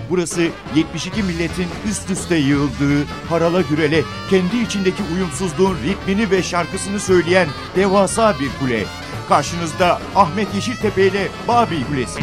Burası 72 milletin üst üste yığıldığı, harala gürele, kendi içindeki uyumsuzluğun ritmini ve şarkısını söyleyen devasa bir kule. Karşınızda Ahmet Yeşiltepe ile Babil Kulesi.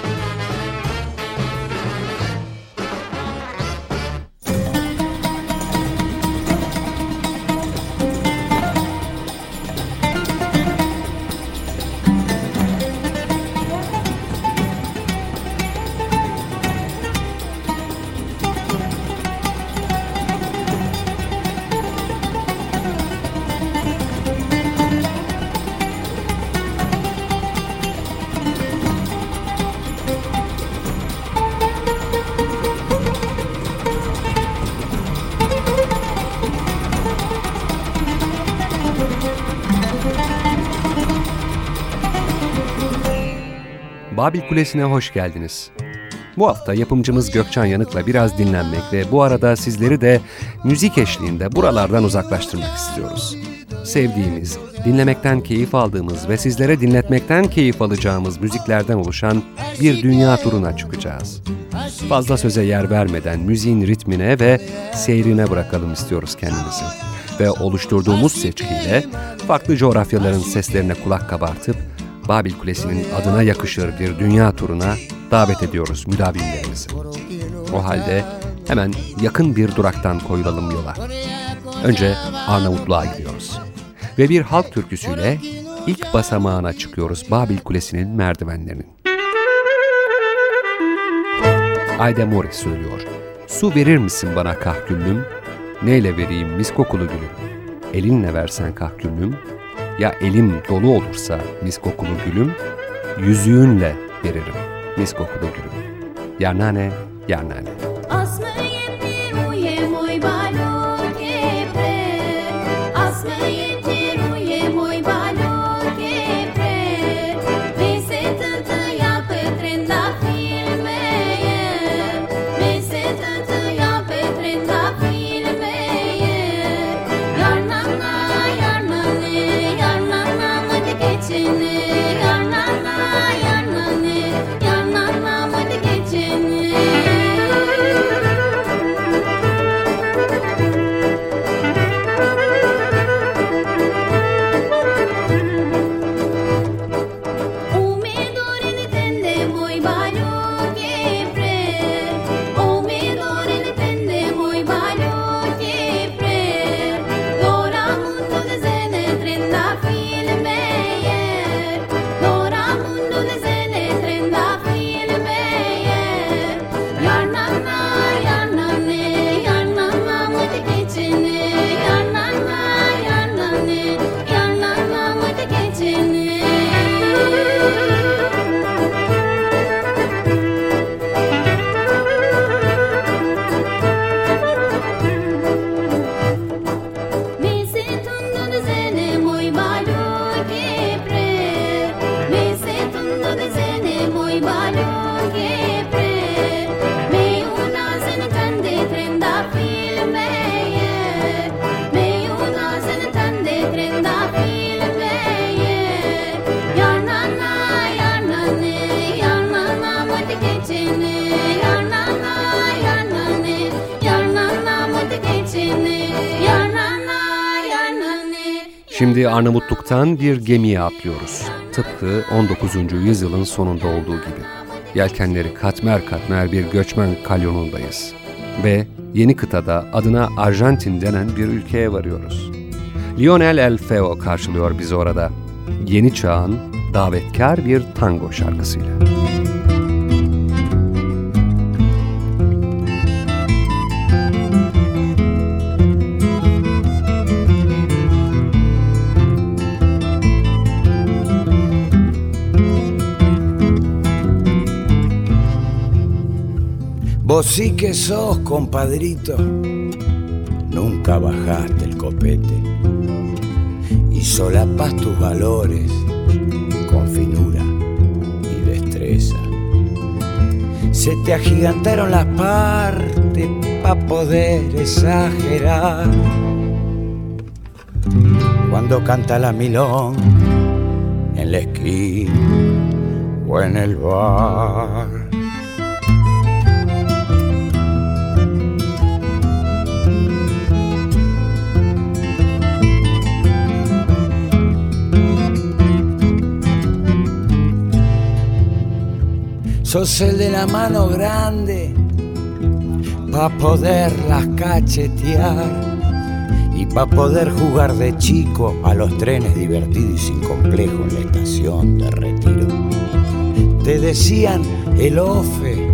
Babil Kulesi'ne hoş geldiniz. Bu hafta yapımcımız Gökçen Yanık'la biraz dinlenmek ve bu arada sizleri de müzik eşliğinde buralardan uzaklaştırmak istiyoruz. Sevdiğimiz, dinlemekten keyif aldığımız ve sizlere dinletmekten keyif alacağımız müziklerden oluşan bir dünya turuna çıkacağız. Fazla söze yer vermeden müziğin ritmine ve seyrine bırakalım istiyoruz kendimizi. Ve oluşturduğumuz seçkiyle farklı coğrafyaların seslerine kulak kabartıp Babil Kulesi'nin adına yakışır bir dünya turuna davet ediyoruz müdavimlerimizi. O halde hemen yakın bir duraktan koyulalım yola. Önce Arnavutluğa gidiyoruz. Ve bir halk türküsüyle ilk basamağına çıkıyoruz Babil Kulesi'nin merdivenlerinin. Ayda Mori söylüyor. Su verir misin bana kahküllüm? Neyle vereyim mis kokulu gülüm? Elinle versen kahküllüm. Ya elim dolu olursa mis kokulu gülüm, yüzüğünle veririm mis kokulu gülüm. Yarnane, yarnane. Şimdi Arnavutluk'tan bir gemiye atlıyoruz. Tıpkı 19. yüzyılın sonunda olduğu gibi. Yelkenleri katmer katmer bir göçmen kalyonundayız. Ve yeni kıtada adına Arjantin denen bir ülkeye varıyoruz. Lionel El Feo karşılıyor bizi orada. Yeni çağın davetkar bir tango şarkısıyla. Vos sí que sos, compadrito, nunca bajaste el copete y solapas tus valores con finura y destreza. Se te agigantaron las partes pa' poder exagerar. Cuando canta la milonga en la esquina o en el bar. sos el de la mano grande pa' poderlas cachetear y pa' poder jugar de chico a los trenes divertidos y sin complejo en la estación de retiro. Te decían el ofe,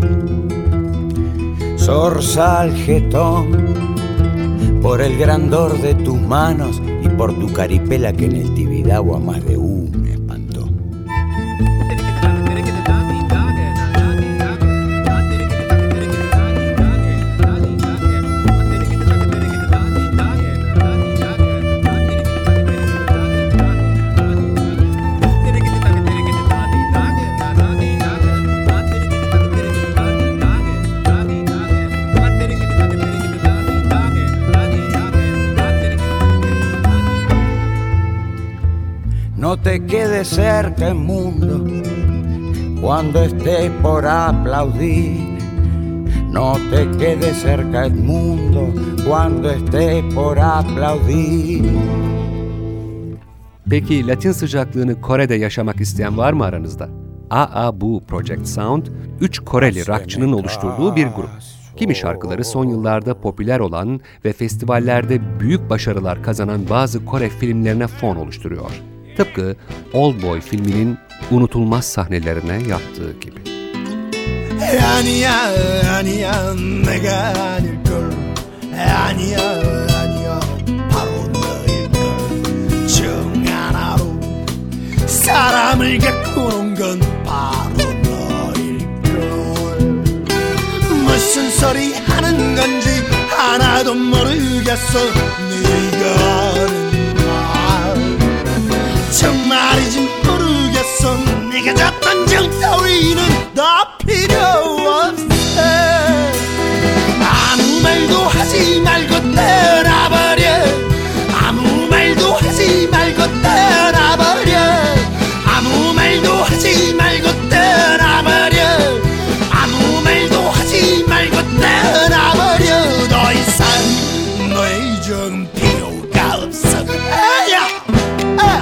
zorzal jetón, por el grandor de tus manos y por tu caripela que en el Tibidabo a más de uno espantó. No te quedes cerca el mundo cuando estés por aplaudir. No te quedes cerca el mundo cuando estés por aplaudir. Peki Latin sıcaklığını Kore'de yaşamak isteyen var mı aranızda? AABU Project Sound, 3 Koreli rockçının oluşturduğu bir grup. Kimi şarkıları son yıllarda popüler olan ve festivallerde büyük başarılar kazanan bazı Kore filmlerine fon oluşturuyor. Tıpkı Oldboy filminin unutulmaz sahnelerine yaptığı gibi. 아니야 아니야 내가 아닐걸 아니야 아니야 바로 너일걸 정 하나로 사람을 가꾸는 건 바로 너일걸 무슨 소리 하는 건지 하나도 모르겠어 네가 하는 말 정말이지 모르겠어 네가 줬던 정 따위는 다 필요 없어 아무 말도 하지 말고 떠나버려 아무 말도 하지 말고 떠나버려 아무 말도 하지 말고 떠나버려 아무 말도 하지 말고 떠나버려 더 이상 너의 정은 필요가 없어 아야 아야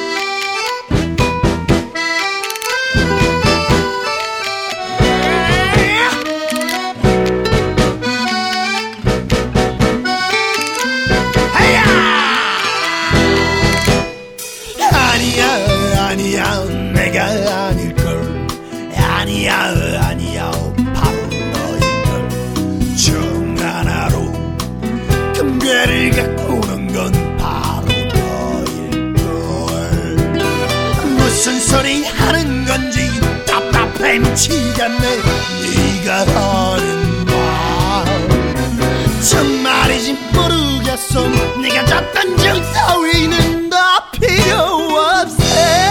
아니야 내가 아닐걸 아니야 아니야 바로 너일걸 정 하나로 금괴를 가꾸는 건 바로 너일걸 무슨 소리 하는 건지 답답해 미치겠네 네가 하는 말 정말이지 모르겠어 네가 줬던 정 따위는 다 필요 없어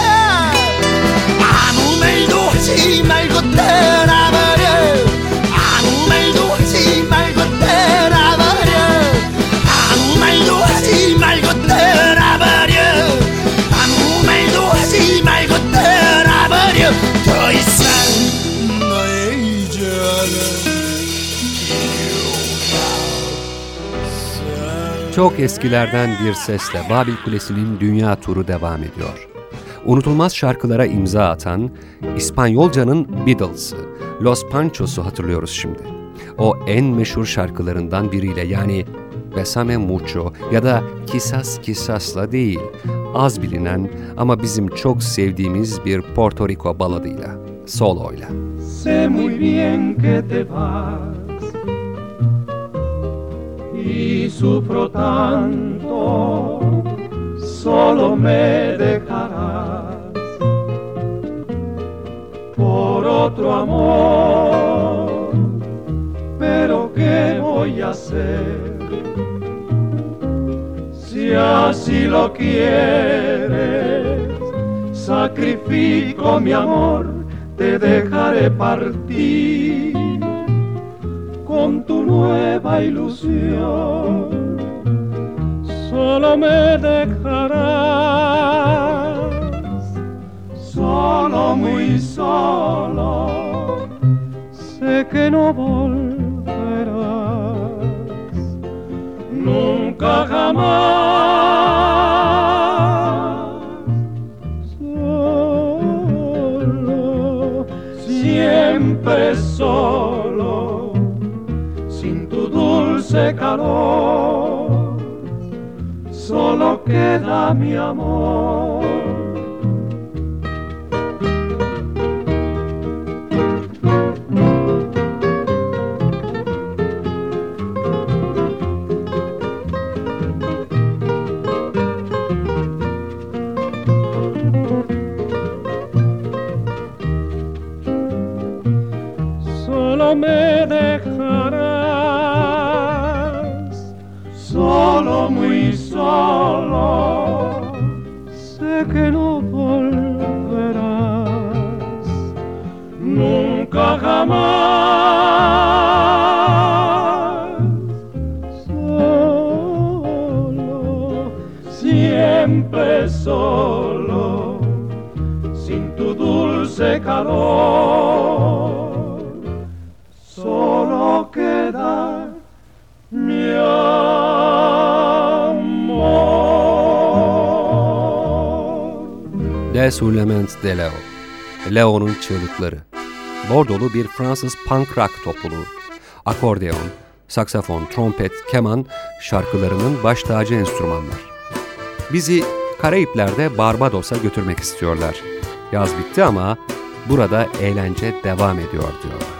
아무 말도 하지 말고 떠나버려 아무 말도 하지 말고 떠나버려 아무 말도 하지 말고 떠나버려 아무 말도 하지 말고 떠나버려 더 이상 너의 이전은 Çok eskilerden bir sesle Babil Kulesi'nin dünya turu devam ediyor. Unutulmaz şarkılara imza atan İspanyolcanın Beatles'ı, Los Panchos'u hatırlıyoruz şimdi. O en meşhur şarkılarından biriyle yani Bésame Mucho ya da Quizás Quizás'la değil, az bilinen ama bizim çok sevdiğimiz bir Porto Rico baladıyla, soloyla. Sé muy bien que te vas y sufro tanto, solo me dejarás por otro amor, pero ¿qué voy a hacer? Si así lo quieres, sacrifico mi amor, te dejaré partir con tu nueva ilusión. Solo me dejarás, solo, muy solo, sé que no volverás, nunca jamás, solo, siempre solo, sin tu dulce calor, solo queda mi amor. Me dejarás solo, muy solo, sé que no volverás nunca jamás. Solo, siempre solo, sin tu dulce calor, solo queda mi amor. Les Hurlements de Leo, Leo'nun çığlıkları. Bordolu bir Fransız punk rock topluluğu. Akordeon, saksafon, trompet, keman şarkılarının baş tacı enstrümanlar. Bizi Karayipler'de Barbados'a götürmek istiyorlar. Yaz bitti ama burada eğlence devam ediyor diyorlar.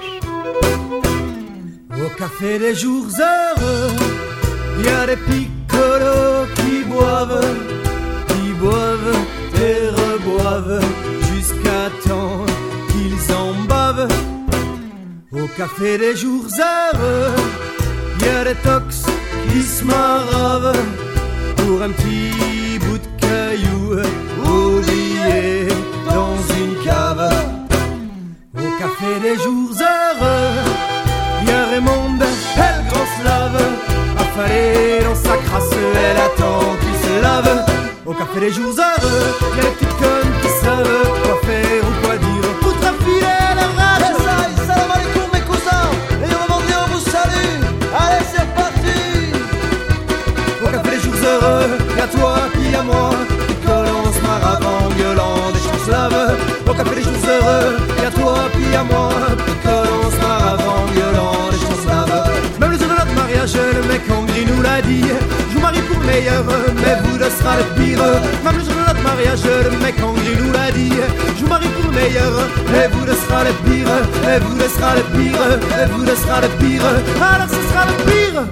Au café des jours heureux, y a des piccolos qui boivent et reboivent jusqu'à temps qu'ils en bavent. Au café des jours heureux, y a des tox qui se maravent pour un petit bout de caillou oublié dans une cave. Au café des jours heureux, y'a Raymonde, elle grosse lave, affalée dans sa crasse, elle attend qu'il se lave. Au café des jours heureux, y'a les petites connes qui savent quoi faire ou quoi dire pour trafiler leur rage. Salam alaikum mes cousins, et revendiez, on vous salue. Allez c'est parti. Au café des jours heureux, y'a toi puis y'a moi, qui collons maravant, gueulant des chanslaves. Au café des jours heureux, y'a toi puis y'a moi, qui collons maravant, gueulant. Même le jour de notre mariage, le mec en gris nous l'a dit. Je vous marie pour le meilleur, mais vous le sera le pire. Même le jour de notre mariage, le mec en gris nous l'a dit. Je vous marie pour le meilleur, mais vous le sera le pire. Mais vous le sera le pire, mais vous le sera le pire. Alors ce sera le pire.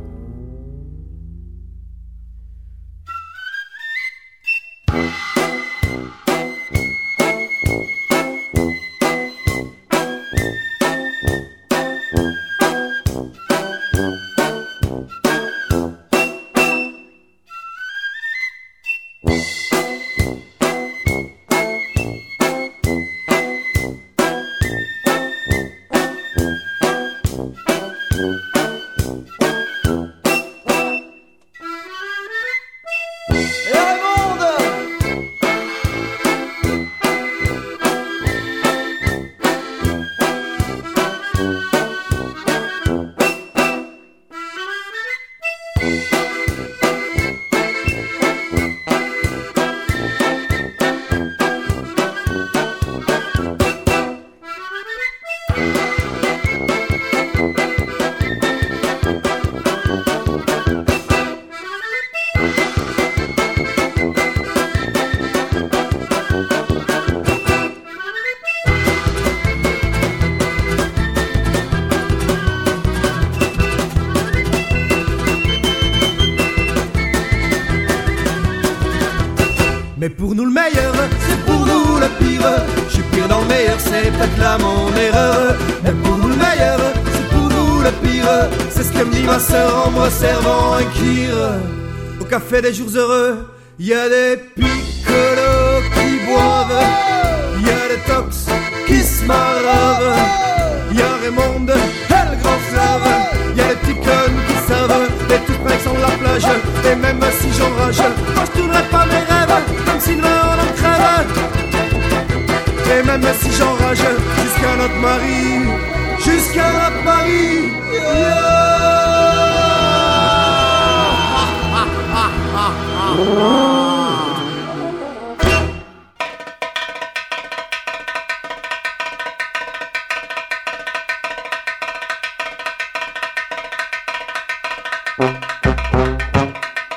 Mais pour nous le meilleur, c'est pour nous le pire. Je suis pire dans le meilleur, c'est peut-être là mon erreur. Mais pour nous le meilleur, c'est pour nous le pire. C'est ce que me dit ma sœur en me servant un kir. Au café des jours heureux, y a des piccolos qui boivent, y a des tox qui se maravent, y a Raymonde, elle grand flave, y a les petits connes qui savent, les toutes près sur la plage. Et même si j'enrage, moi je tournerai pas mes rêves, comme si demain on en crève. Et même si j'enrage, jusqu'à notre mari, jusqu'à notre mari.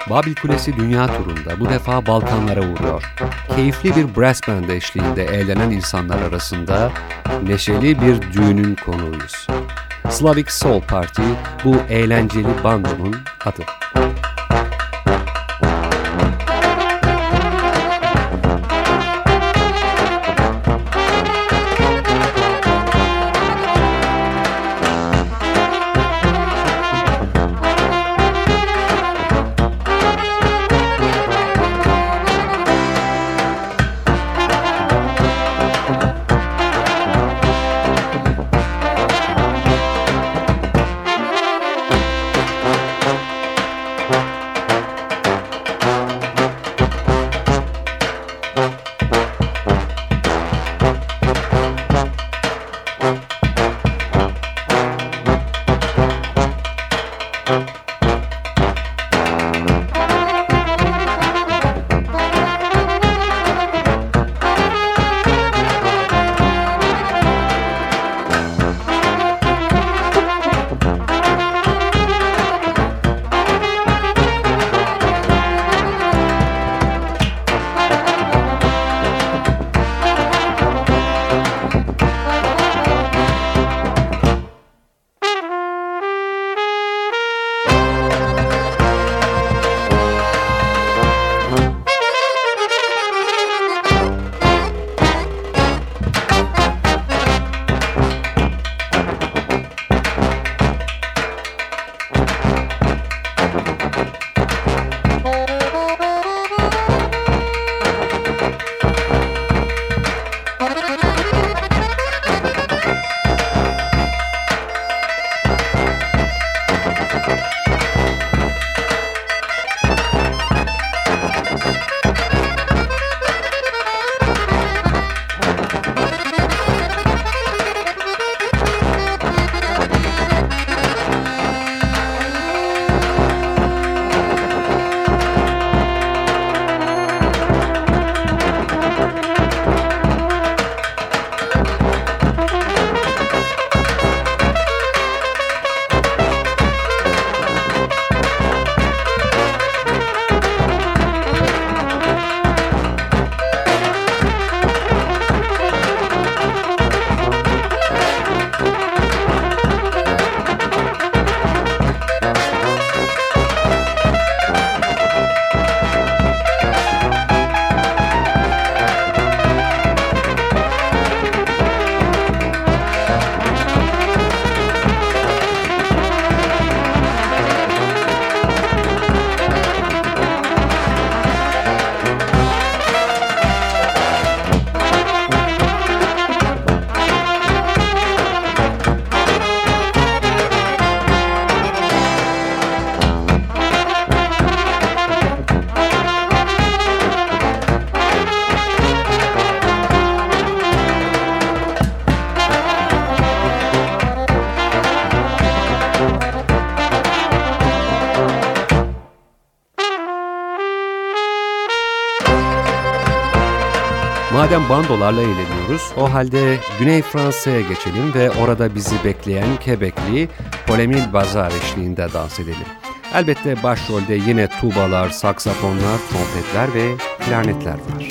Babil Kulesi dünya turunda bu defa Balkanlara uğruyor. Keyifli bir brass band eşliğinde eğlenen insanlar arasında neşeli bir düğünün konuğuyuz. Slavic Soul Party bu eğlenceli bandonun adı. Madem bandolarla eğleniyoruz, o halde Güney Fransa'ya geçelim ve orada bizi bekleyen Quebecli Paul-Émile Bazar eşliğinde dans edelim. Elbette başrolde yine tubalar, saksafonlar, trompetler ve klarnetler var.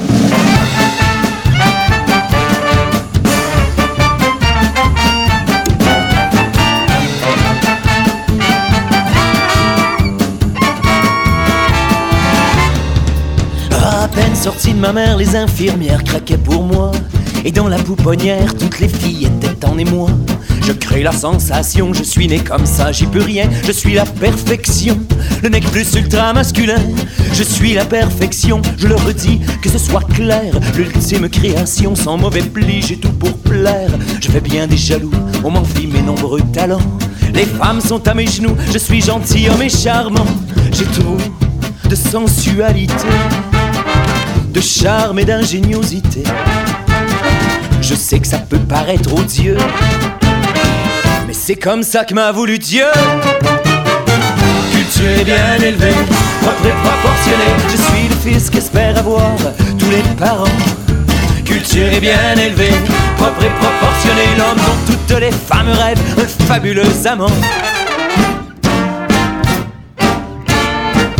À peine sorti de ma mère, les infirmières craquaient pour moi. Et dans la pouponnière, toutes les filles étaient en émoi. Je crée la sensation, je suis né comme ça, j'y peux rien. Je suis la perfection, le nec plus ultra masculin. Je suis la perfection, je le redis, que ce soit clair. L'ultime création, sans mauvais pli, j'ai tout pour plaire. Je fais bien des jaloux, on m'envie mes nombreux talents. Les femmes sont à mes genoux, je suis gentilhomme et charmant. J'ai trop de sensualité, de charme et d'ingéniosité. Je sais que ça peut paraître odieux, mais c'est comme ça que m'a voulu Dieu. Culturé, bien élevé, propre et proportionné, je suis le fils qu'espèrent avoir tous les parents. Culturé, bien élevé, propre et proportionné, l'homme dont toutes les femmes rêvent, un fabuleux amant.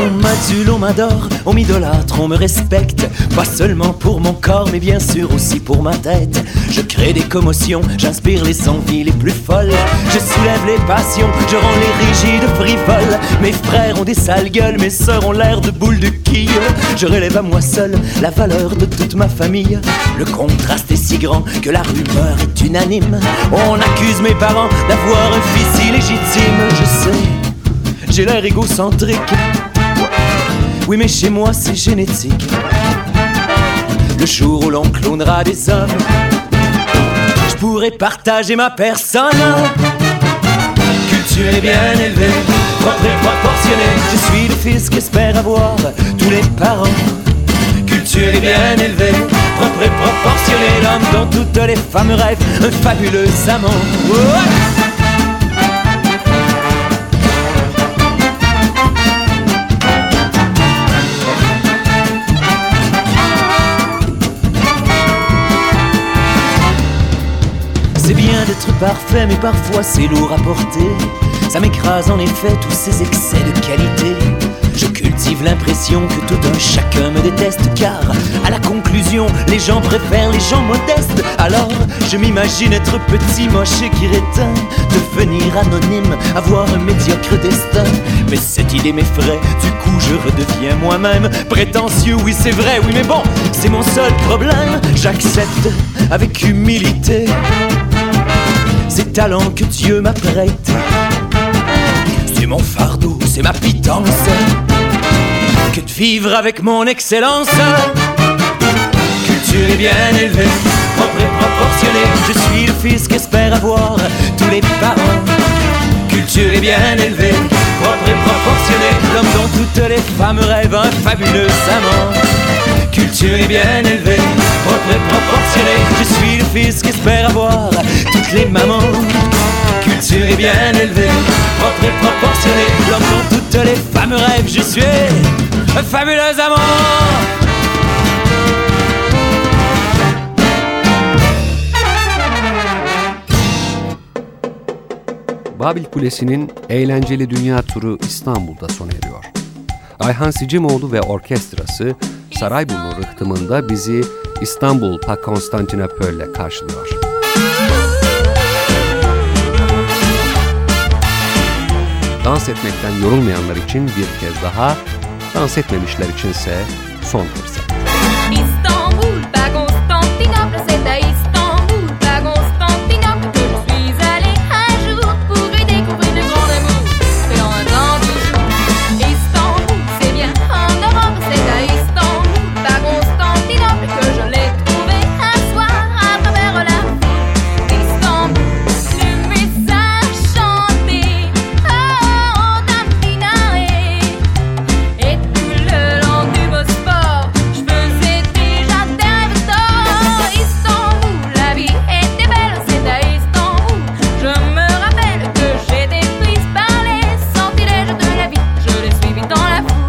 On m'adule, on m'adore, on m'idolâtre, on me respecte. Pas seulement pour mon corps, mais bien sûr aussi pour ma tête. Je crée des commotions, j'inspire les envies les plus folles. Je soulève les passions, je rends les rigides frivoles. Mes frères ont des sales gueules, mes sœurs ont l'air de boules de quilles. Je relève à moi seul la valeur de toute ma famille. Le contraste est si grand que la rumeur est unanime. On accuse mes parents d'avoir un fils illégitime. Je sais, j'ai l'air égocentrique. Oui, mais chez moi c'est génétique. Le jour où l'on clonera des hommes, je pourrais partager ma personne. Culturé, bien élevé, propre et proportionné. Je suis le fils qu'espèrent avoir tous les parents. Culturé, bien élevé, propre et proportionné. L'homme dont toutes les femmes rêvent, un fabuleux amant. C'est bien d'être parfait, mais parfois c'est lourd à porter. Ça m'écrase en effet tous ces excès de qualité. Je cultive l'impression que tout un chacun me déteste, car à la conclusion, les gens préfèrent les gens modestes. Alors je m'imagine être petit, moche et qui réteint, devenir anonyme, avoir un médiocre destin. Mais cette idée m'effraie, du coup je redeviens moi-même prétentieux, oui c'est vrai, oui mais bon, c'est mon seul problème. J'accepte avec humilité ces talents que Dieu m'apprête. C'est mon fardeau, c'est ma pitance que de vivre avec mon excellence. Culturé, bien élevé, propre et proportionné. Je suis le fils qu'espèrent avoir tous les parents. Culturé, bien élevé, propre et proportionné. L'homme dont toutes les femmes rêvent, un fabuleux amant. Culturé, bien élevé, propre et proportionné. Je suis le fils qu'espèrent avoir toutes les mamans. Culturé, bien élevé, propre et proportionné. L'homme dont toutes les femmes rêvent, je suis un fabuleux amant. Babil Kulesi'nin eğlenceli dünya turu İstanbul'da sona eriyor. Ayhan Sicimoğlu ve orkestrası Sarayburnu rıhtımında bizi İstanbul pa Konstantinopol'le karşılıyor. Dans etmekten yorulmayanlar için bir kez daha, dans etmemişler içinse son fırsat. Istanbul, pas Constantinople, c'est à Istanbul, pas Constantinople que je suis allé un jour pour y découvrir le grand amour. C'est dans un temps toujours. Istanbul, c'est bien en Europe, c'est à Istanbul, pas Constantinople que je l'ai trouvé un soir à travers la foule. Istanbul, le message chanté, oh, Dantinae, et tout le long du Bosphore, je faisais déjà des rêves d'or. Istanbul, la vie était belle, c'est à Istanbul. Je me rappelle que j'étais prise par les sortilèges de la vie. Je l'ai suivi dans la foule.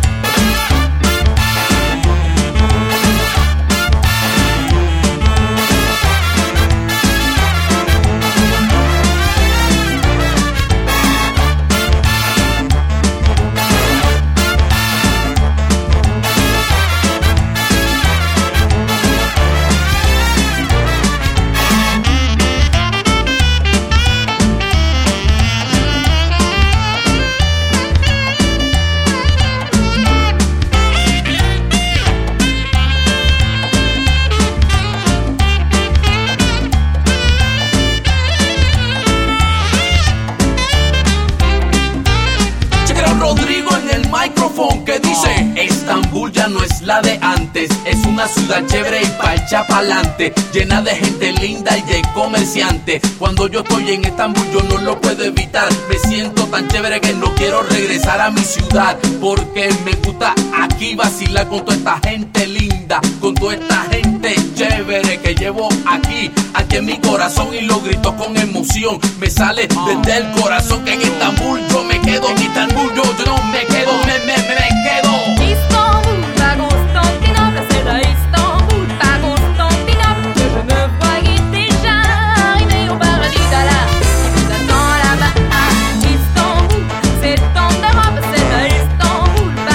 Chequera Rodrigo en el micrófono que dice: Estambul ya no es la de antes, es una ciudad chévere y pa' echar pa'lante, llena de gente linda y de comerciantes. Cuando yo estoy en Estambul yo no lo puedo evitar, me siento tan chévere que no quiero regresar a mi ciudad, porque me gusta aquí vacilar con toda esta gente linda, con toda esta gente chévere que llevo aquí en mi corazón, y lo grito con emoción, me sale desde el corazón que en Estambul yo me quedo, en Estambul yo no me quedo, me quedo. Istanbul, pas Constantinople, c'est à Istanbul, pas Constantinople que je me voyais déjà arriver au paradis d'Allah. Qui vous attend là-bas? Istanbul, c'est en Europe, c'est à Istanbul,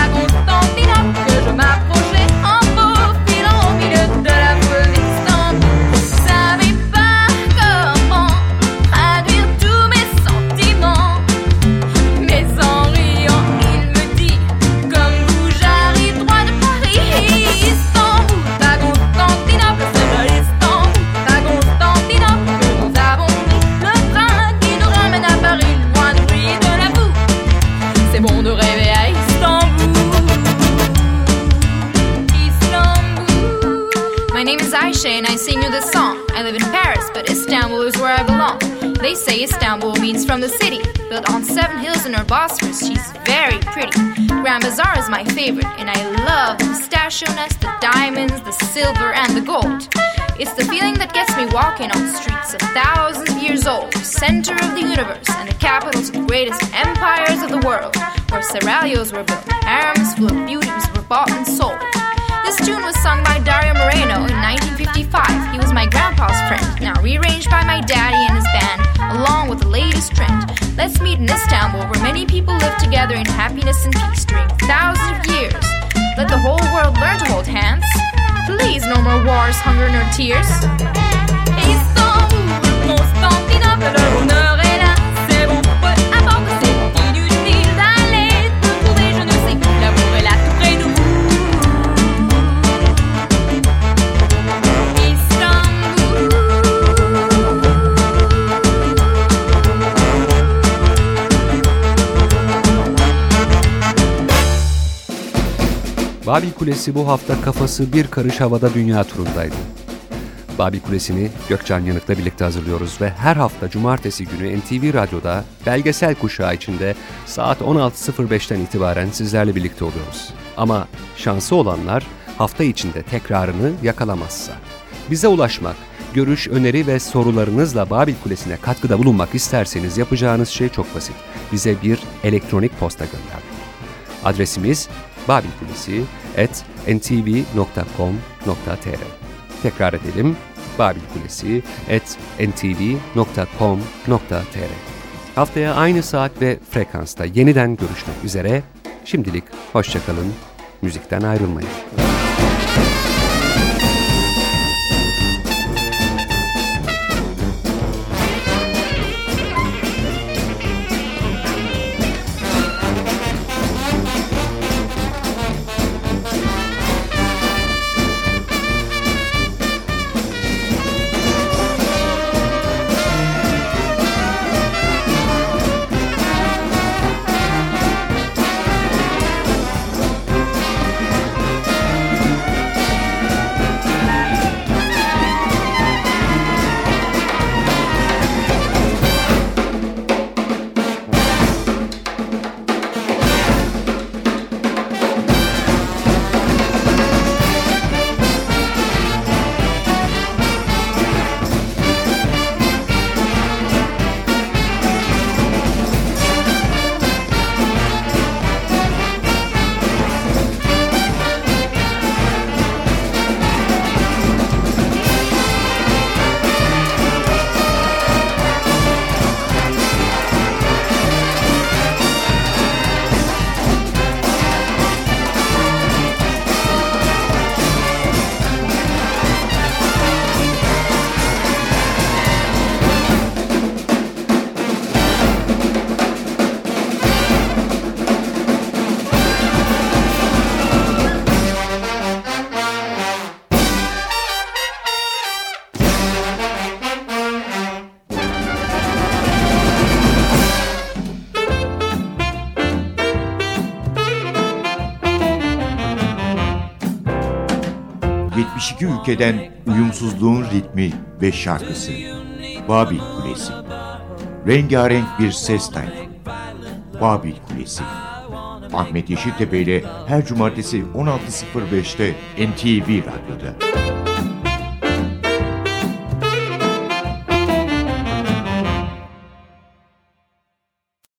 is Ayşe and I sing you this song. I live in Paris, but Istanbul is where I belong. They say Istanbul means from the city, built on 7 hills in her Bosphorus. She's very pretty. Grand Bazaar is my favorite, and I love the pistachio nuts, the diamonds, the silver, and the gold. It's the feeling that gets me walking on streets of thousands of years old, center of the universe, and the capitals of the greatest empires of the world, where seraglios were built, harems full of beauties were bought and sold. This tune was sung by Dario Moreno in 1955. He was my grandpa's friend, now rearranged by my daddy and his band, along with the latest trend. Let's meet in Istanbul, where many people live together in happiness and peace during thousands of years. Let the whole world learn to hold hands. Please, no more wars, hunger, nor tears. Istanbul, Constantinople, le bonheur est là, c'est bon, peu importe, c'est inutile d'aller te trouver, je ne sais où, l'amour est là tout près de nous. Babil Kulesi bu hafta kafası bir karış havada dünya turundaydı. Babil Kulesi'ni Gökçen Yanık'la birlikte hazırlıyoruz ve her hafta cumartesi günü NTV Radyo'da belgesel kuşağı içinde saat 16.05'ten itibaren sizlerle birlikte oluyoruz. Ama şansı olanlar hafta içinde tekrarını yakalamazsa. Bize ulaşmak, görüş, öneri ve sorularınızla Babil Kulesi'ne katkıda bulunmak isterseniz yapacağınız şey çok basit. Bize bir elektronik posta göndermek. Adresimiz babilkulesi@ntv.com.tr. Tekrar edelim, babilkulesi@ntv.com.tr. Haftaya aynı saat ve frekansta yeniden görüşmek üzere. Şimdilik hoşçakalın, müzikten ayrılmayın. Ülkeden uyumsuzluğun ritmi ve şarkısı. Babil Kulesi. Rengarenk bir ses tayfı. Babil Kulesi. Ahmet Yeşiltepe ile her cumartesi 16.05'te NTV Radyo'da.